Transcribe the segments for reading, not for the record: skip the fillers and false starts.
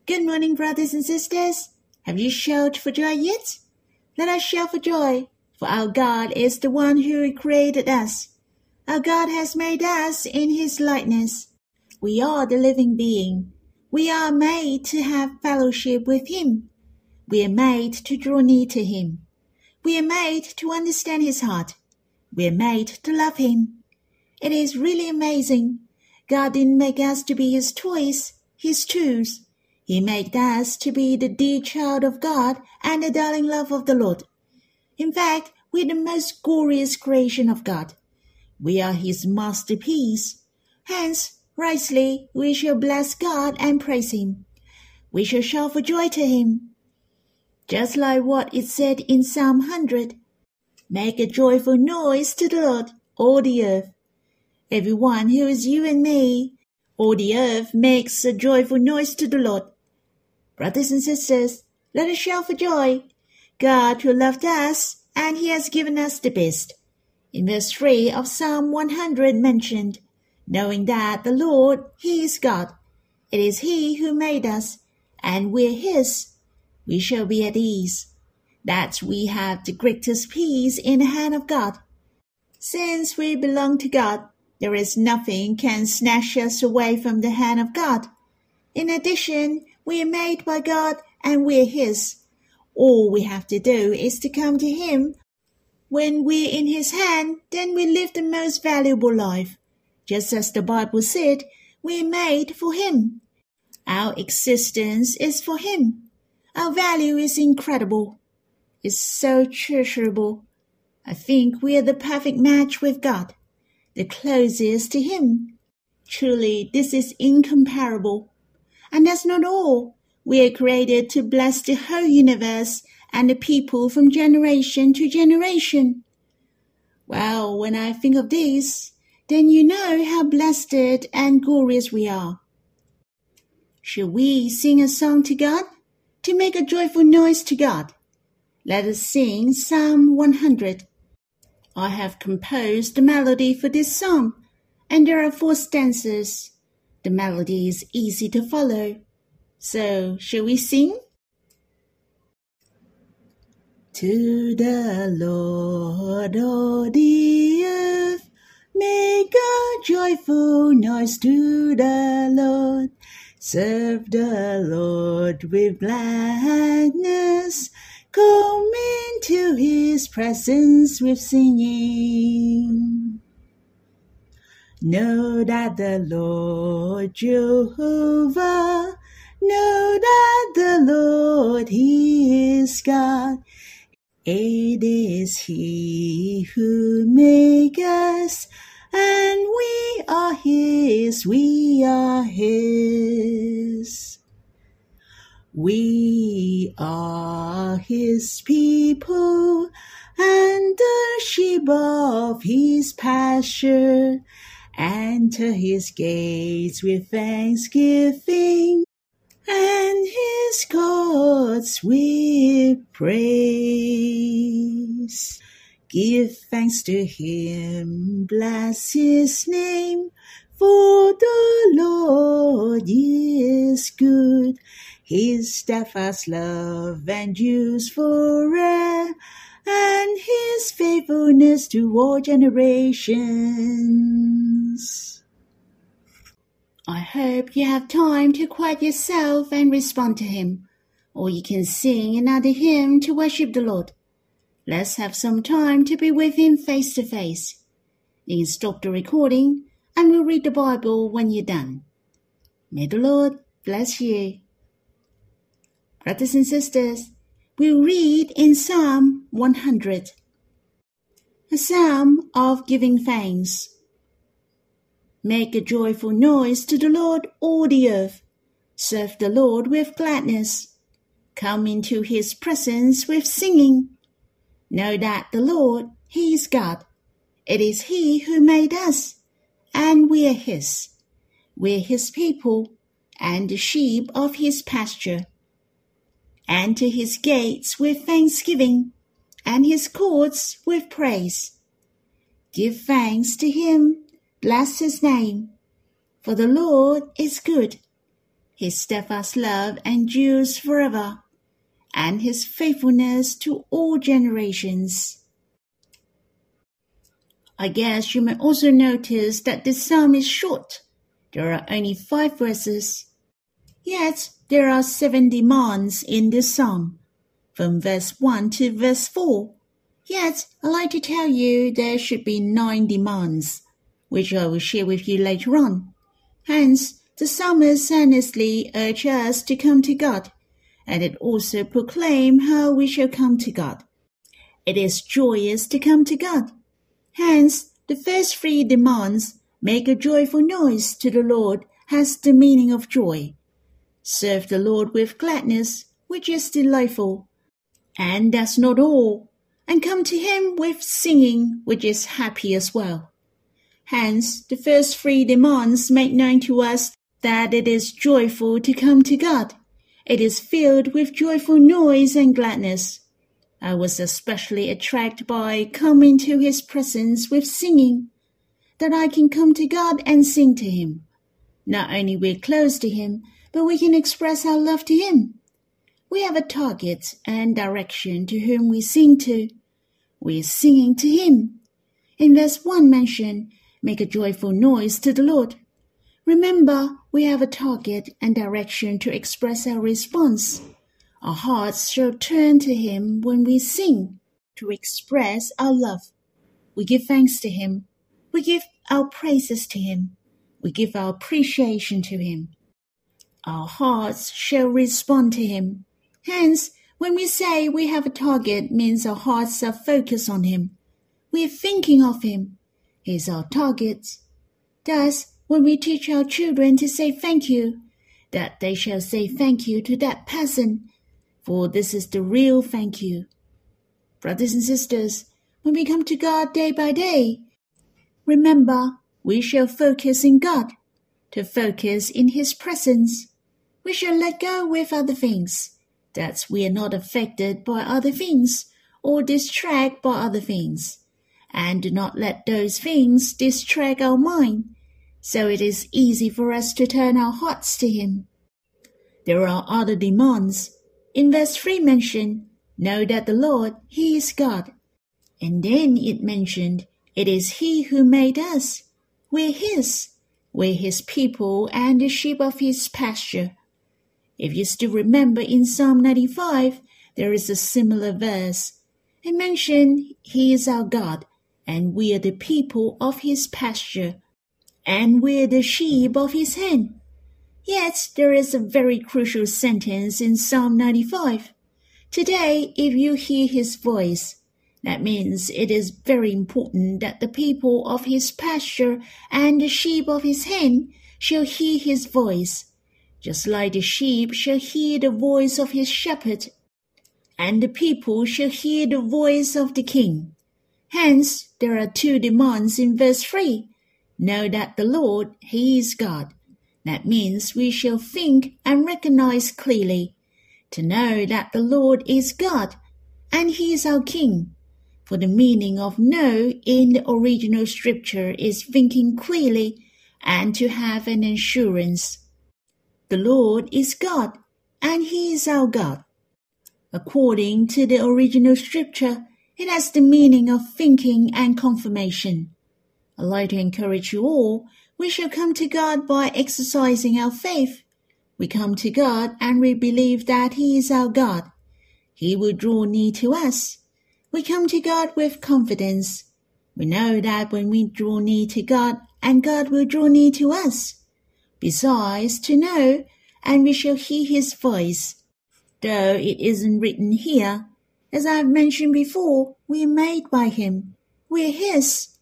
Good morning, brothers and sisters. Have you shouted for joy yet? Let us shout for joy, for our God is the one who created us. Our God has made us in His likeness. We are the living being. We are made to have fellowship with Him. We are made to draw near to Him. We are made to understand His heart. We are made to love Him. It is really amazing. God didn't make us to be His toys, His tools. He made us to be the dear child of God and the darling love of the Lord. In fact, we are the most glorious creation of God. We are His masterpiece. Hence, rightly, we shall bless God and praise Him. We shall shout for joy to Him. Just like what it said in Psalm 100, make a joyful noise to the Lord, all the earth. Everyone who is you and me, all the earth makes a joyful noise to the Lord. Brothers and sisters, let us shout for joy. God who loved us, and He has given us the best. In verse 3 of Psalm 100 mentioned, knowing that the Lord, He is God. It is He who made us, and we're His. We shall be at ease. That we have the greatest peace in the hand of God. Since we belong to God, there is nothing can snatch us away from the hand of God. In addition, we are made by God and we are His. All we have to do is to come to Him. When we're in His hand, then we live the most valuable life. Just as the Bible said, we are made for Him. Our existence is for Him. Our value is incredible. It's so treasurable. I think we are the perfect match with God, the closest to Him. Truly, this is incomparable. And that's not all. We are created to bless the whole universe and the people from generation to generation. Well, when I think of this, then you know how blessed and glorious we are. Shall we sing a song to God? To make a joyful noise to God. Let us sing Psalm 100. I have composed the melody for this song, and there are 4 stanzas. The melody is easy to follow. So, shall we sing? To the Lord, all the earth, make a joyful noise to the Lord. Serve the Lord with gladness. Come into His presence with singing. Know that the Lord Jehovah, know that the Lord He is God. It is He who made us, and we are His, we are His. We are His people, and the sheep of His pasture. Enter His gates with thanksgiving, and His courts with praise. Give thanks to Him, bless His name, for the Lord is good. His steadfast love endures forever, and His faithfulness to all generations. I hope you have time to quiet yourself and respond to Him, or you can sing another hymn to worship the Lord. Let's have some time to be with Him face to face. You can stop the recording and we'll read the Bible when you're done. May the Lord bless you. Brothers and sisters, we'll read in Psalm 100, a psalm of giving thanks. Make a joyful noise to the Lord, all the earth. Serve the Lord with gladness. Come into His presence with singing. Know that the Lord, He is God. It is He who made us, and we are His. We are His people, and the sheep of His pasture. Enter His gates with thanksgiving, and His courts with praise. Give thanks to Him, bless His name, for the Lord is good. His steadfast love endures forever, and his faithfulness to all generations. I guess you may also notice that this psalm is short. There are only 5 verses. Yet there are 7 demands in this psalm, from verse 1 to verse 4. Yet I'd like to tell you there should be 9 demands, which I will share with you later on. Hence, the psalmist earnestly urges us to come to God, and it also proclaims how we shall come to God. It is joyous to come to God. Hence, the first 3 demands, make a joyful noise to the Lord, has the meaning of joy. Serve the Lord with gladness, which is delightful. And that's not all. And come to him with singing, which is happy as well. Hence, the first 3 demands make known to us that it is joyful to come to God. It is filled with joyful noise and gladness. I was especially attracted by coming to his presence with singing, that I can come to God and sing to him. Not only we're close to him, but we can express our love to him. We have a target and direction to whom we sing to. We're singing to him. In verse 1 mentioned, make a joyful noise to the Lord. Remember, we have a target and direction to express our response. Our hearts shall turn to him when we sing, to express our love. We give thanks to him. We give our praises to him. We give our appreciation to him. Our hearts shall respond to him. Hence, when we say we have a target, means our hearts are focused on him. We are thinking of him. He is our target. Thus, when we teach our children to say thank you, that they shall say thank you to that person, for this is the real thank you. Brothers and sisters, when we come to God day by day, remember, we shall focus in God, to focus in his presence. We shall let go with other things, that we are not affected by other things or distracted by other things, and do not let those things distract our mind, so it is easy for us to turn our hearts to him. There are other demands. In verse 3 mentioned, know that the Lord, he is God. And then it mentioned, it is he who made us. We're his people and the sheep of his pasture. If you still remember in Psalm 95, there is a similar verse. It mentioned he is our God, and we are the people of his pasture, and we are the sheep of his hand. Yet there is a very crucial sentence in Psalm 95. Today, if you hear his voice, that means it is very important that the people of his pasture and the sheep of his hand shall hear his voice, just like the sheep shall hear the voice of his shepherd, and the people shall hear the voice of the king. Hence, there are 2 demands in verse 3. Know that the Lord, he is God. That means we shall think and recognize clearly, to know that the Lord is God, and he is our king. For the meaning of know in the original scripture is thinking clearly and to have an assurance. The Lord is God, and he is our God. According to the original scripture, it has the meaning of thinking and confirmation. I'd like to encourage you all, we shall come to God by exercising our faith. We come to God and we believe that he is our God. He will draw near to us. We come to God with confidence. We know that when we draw near to God, and God will draw near to us. Besides, to know, and we shall hear his voice. Though it isn't written here, as I have mentioned before, we are made by him. We are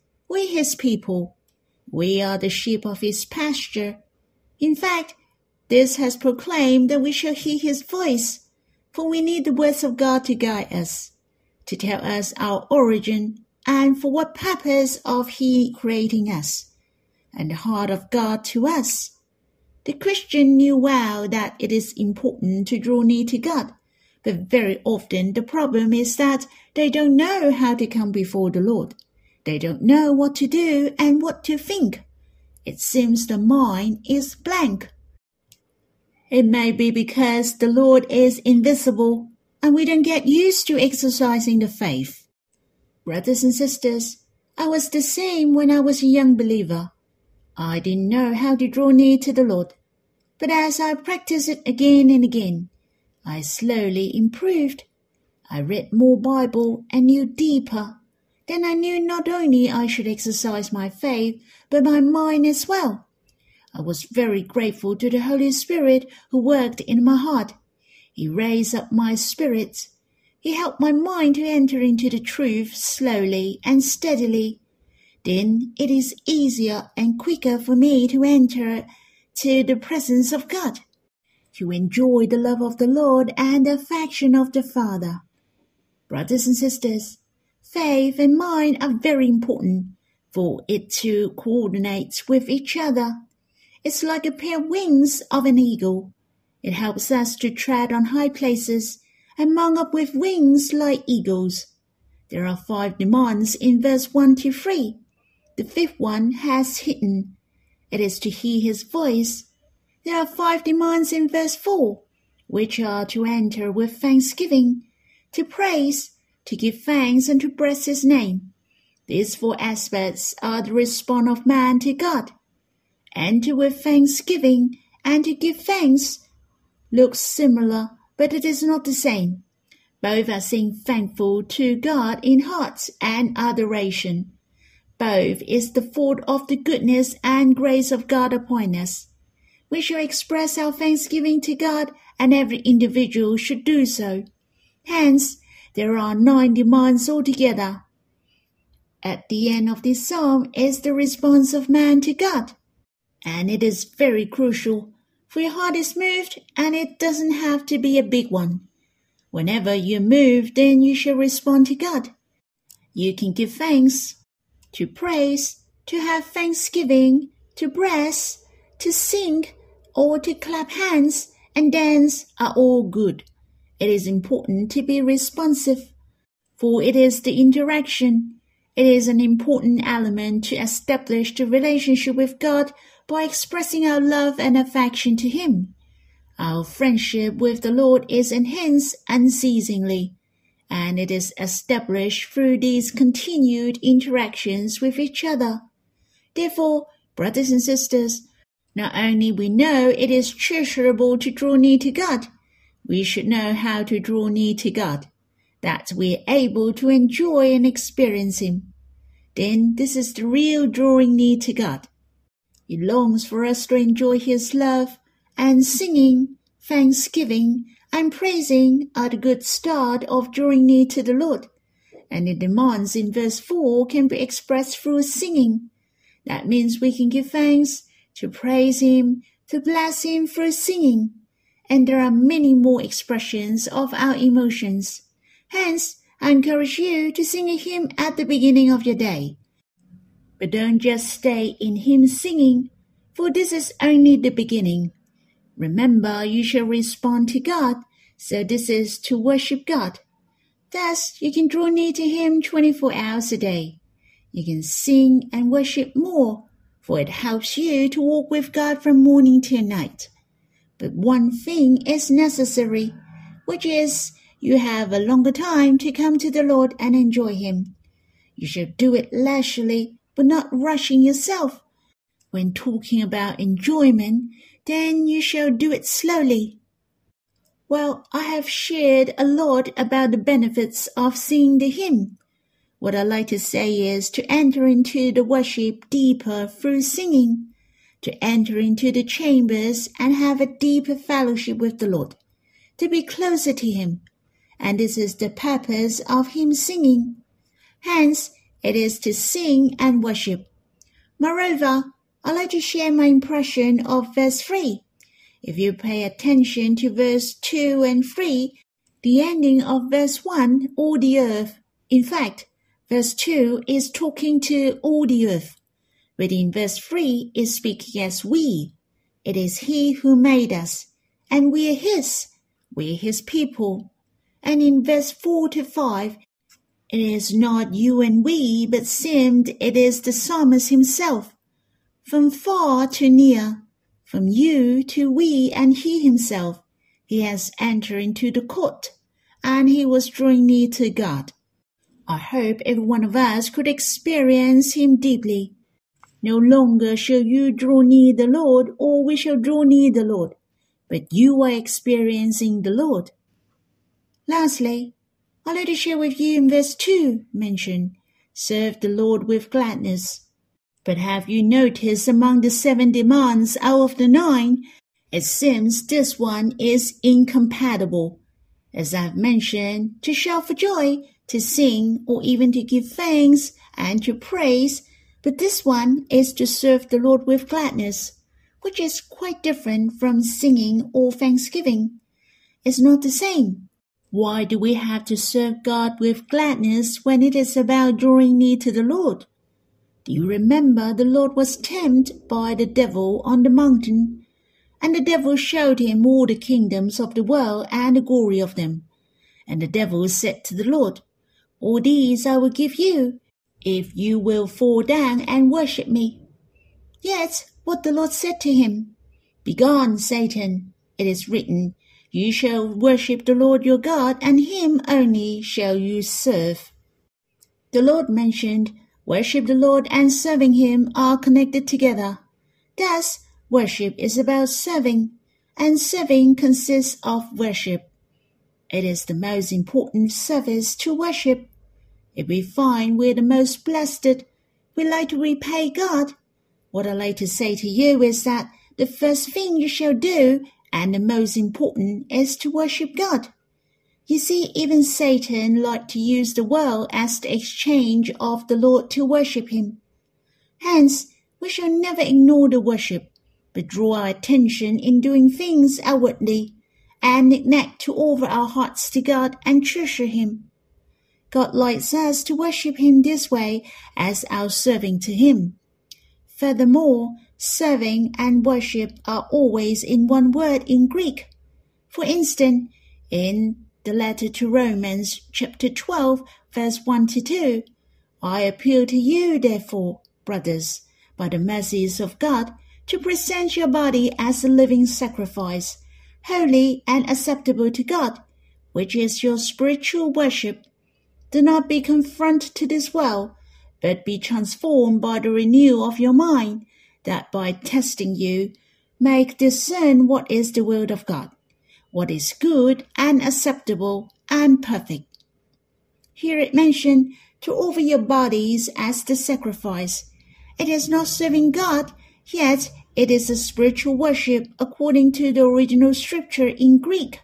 his people. We are the sheep of his pasture. In fact, this has proclaimed that we shall hear his voice, for we need the words of God to guide us, to tell us our origin, and for what purpose of he creating us, and the heart of God to us. The Christian knew well that it is important to draw near to God, but very often the problem is that they don't know how to come before the Lord. They don't know what to do and what to think. It seems the mind is blank. It may be because the Lord is invisible and we don't get used to exercising the faith. Brothers and sisters, I was the same when I was a young believer. I didn't know how to draw near to the Lord. But as I practiced it again and again, I slowly improved. I read more Bible and knew deeper. Then I knew not only I should exercise my faith, but my mind as well. I was very grateful to the Holy Spirit who worked in my heart. He raised up my spirits. He helped my mind to enter into the truth slowly and steadily. Then it is easier and quicker for me to enter to the presence of God, to enjoy the love of the Lord and the affection of the Father. Brothers and sisters, faith and mind are very important for it to coordinate with each other. It's like a pair of wings of an eagle. It helps us to tread on high places and mount up with wings like eagles. There are 5 demands in verse 1 to 3. The 5th one has hidden. It is to hear his voice. There are 5 demands in verse 4, which are to enter with thanksgiving, to praise, to give thanks, and to bless his name. These 4 aspects are the response of man to God. Enter with thanksgiving and to give thanks looks similar, but it is not the same. Both are saying thankful to God in heart and adoration. Both is the thought of the goodness and grace of God upon us. We shall express our thanksgiving to God, and every individual should do so. Hence, there are 9 demands altogether. At the end of this psalm is the response of man to God. And it is very crucial, for your heart is moved, and it doesn't have to be a big one. Whenever you're moved, then you shall respond to God. You can give thanks, to praise, to have thanksgiving, to bless, to sing, or to clap hands and dance are all good. It is important to be responsive, for it is the interaction. It is an important element to establish the relationship with God by expressing our love and affection to Him. Our friendship with the Lord is enhanced unceasingly, and it is established through these continued interactions with each other. Therefore, brothers and sisters, not only we know it is treasurable to draw near to God, we should know how to draw near to God, that we are able to enjoy and experience Him. Then this is the real drawing near to God. He longs for us to enjoy His love, and singing, thanksgiving, and praising are the good start of drawing near to the Lord. And the demands in verse 4 can be expressed through singing. That means we can give thanks, to praise Him, to bless Him through singing. And there are many more expressions of our emotions. Hence, I encourage you to sing a hymn at the beginning of your day. But don't just stay in hymn singing, for this is only the beginning. Remember, you shall respond to God, so this is to worship God. Thus, you can draw near to Him 24 hours a day. You can sing and worship more, for it helps you to walk with God from morning till night. But one thing is necessary, which is you have a longer time to come to the Lord and enjoy Him. You should do it leisurely, but not rushing yourself. When talking about enjoyment, then you shall do it slowly. Well, I have shared a lot about the benefits of singing the hymn. What I like to say is to enter into the worship deeper through singing, to enter into the chambers and have a deeper fellowship with the Lord, to be closer to Him. And this is the purpose of hymn singing. Hence, it is to sing and worship. Moreover, I'd like to share my impression of verse 3. If you pay attention to verse 2 and 3, the ending of verse 1, all the earth. In fact, verse 2 is talking to all the earth. But in verse 3 is speaking as we. It is He who made us, and we are His. We are His people. And in verse 4 to 5, it is not you and we, but seemed it is the psalmist himself. From far to near, from you to we and he himself. He has entered into the court, and he was drawing near to God. I hope every one of us could experience him deeply. No longer shall you draw near the Lord, or we shall draw near the Lord, but you are experiencing the Lord. Lastly, I'd like to share with you in verse 2 mentioned, serve the Lord with gladness. But have you noticed among the 7 demands out of the 9, it seems this one is incompatible. As I've mentioned, to shout for joy, to sing, or even to give thanks and to praise, but this one is to serve the Lord with gladness, which is quite different from singing or thanksgiving. It's not the same. Why do we have to serve God with gladness when it is about drawing near to the Lord? Do you remember the Lord was tempted by the devil on the mountain? And the devil showed him all the kingdoms of the world and the glory of them. And the devil said to the Lord, all these I will give you, if you will fall down and worship me. Yet what the Lord said to him, begone, Satan, it is written, you shall worship the Lord your God, and him only shall you serve. The Lord mentioned, worship the Lord and serving him are connected together. Thus, worship is about serving, and serving consists of worship. It is the most important service to worship. If we find we're the most blessed, we like to repay God. What I like to say to you is that the first thing you shall do, and the most important, is to worship God. You see, even Satan liked to use the world as the exchange of the Lord to worship him. Hence, we shall never ignore the worship, but draw our attention in doing things outwardly, and neglect to offer our hearts to God and treasure him. God likes us to worship him this way as our serving to him. Furthermore, serving and worship are always in one word in Greek. For instance, in the letter to Romans, chapter 12, verse 1-2, I appeal to you, therefore, brothers, by the mercies of God, to present your body as a living sacrifice, holy and acceptable to God, which is your spiritual worship. Do not be conformed to this world, but be transformed by the renewal of your mind, that by testing you may discern what is the will of God, what is good and acceptable and perfect. Here it mentioned to offer your bodies as the sacrifice. It is not serving God, yet it is a spiritual worship according to the original scripture in Greek.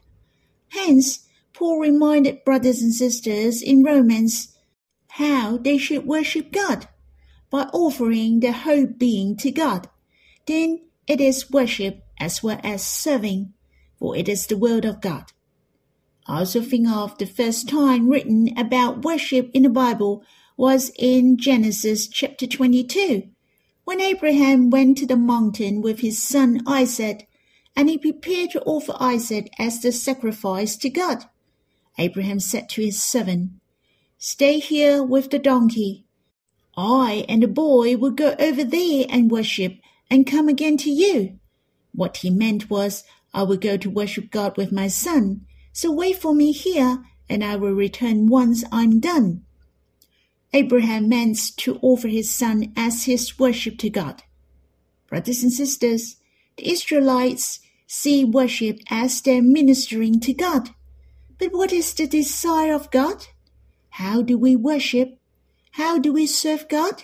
Hence, Paul reminded brothers and sisters in Romans how they should worship God, by offering their whole being to God. Then it is worship as well as serving, for it is the will of God. I also think of the first time written about worship in the Bible was in Genesis chapter 22, when Abraham went to the mountain with his son Isaac, and he prepared to offer Isaac as the sacrifice to God. Abraham said to his servant, stay here with the donkey. I and the boy will go over there and worship and come again to you. What he meant was, I will go to worship God with my son, so wait for me here, and I will return once I'm done. Abraham meant to offer his son as his worship to God. Brothers and sisters, the Israelites see worship as their ministering to God. But what is the desire of God? How do we worship? How do we serve God?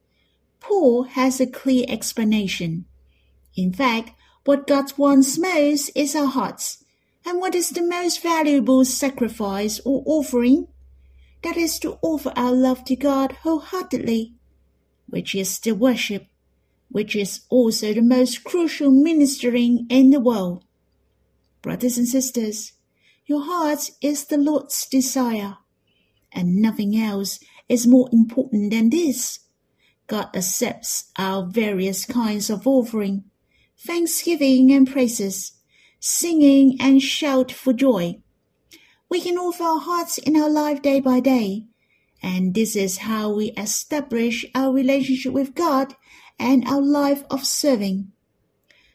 Paul has a clear explanation. In fact, what God wants most is our hearts. And what is the most valuable sacrifice or offering? That is to offer our love to God wholeheartedly, which is the worship, which is also the most crucial ministering in the world. Brothers and sisters, your heart is the Lord's desire, and nothing else is more important than this. God accepts our various kinds of offering, thanksgiving and praises, singing and shout for joy. We can offer our hearts in our life day by day, and this is how we establish our relationship with God and our life of serving.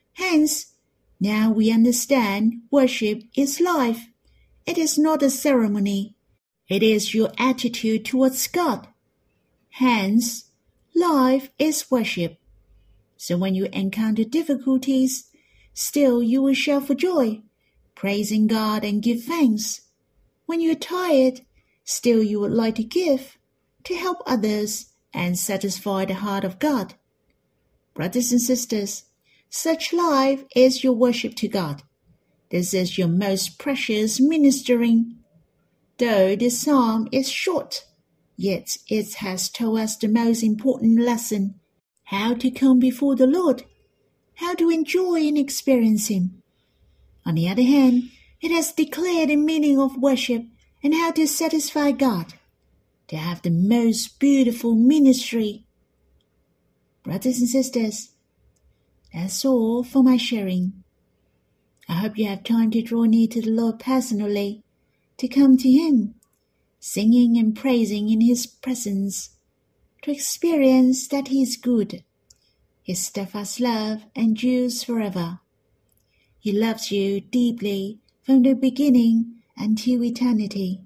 Hence, now we understand worship is life. It is not a ceremony. It is your attitude towards God. Hence, life is worship. So when you encounter difficulties, still you will shout for joy, praising God and give thanks. When you are tired, still you would like to give, to help others and satisfy the heart of God. Brothers and sisters, such life is your worship to God. This is your most precious ministering. Though this psalm is short, yet it has told us the most important lesson, how to come before the Lord, how to enjoy and experience Him. On the other hand, it has declared the meaning of worship and how to satisfy God, to have the most beautiful ministry. Brothers and sisters, that's all for my sharing. I hope you have time to draw near to the Lord personally, to come to Him, singing and praising in His presence, to experience that He is good. His steadfast love endures forever. He loves you deeply from the beginning until eternity.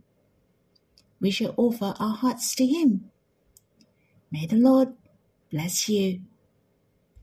We shall offer our hearts to Him. May the Lord bless you.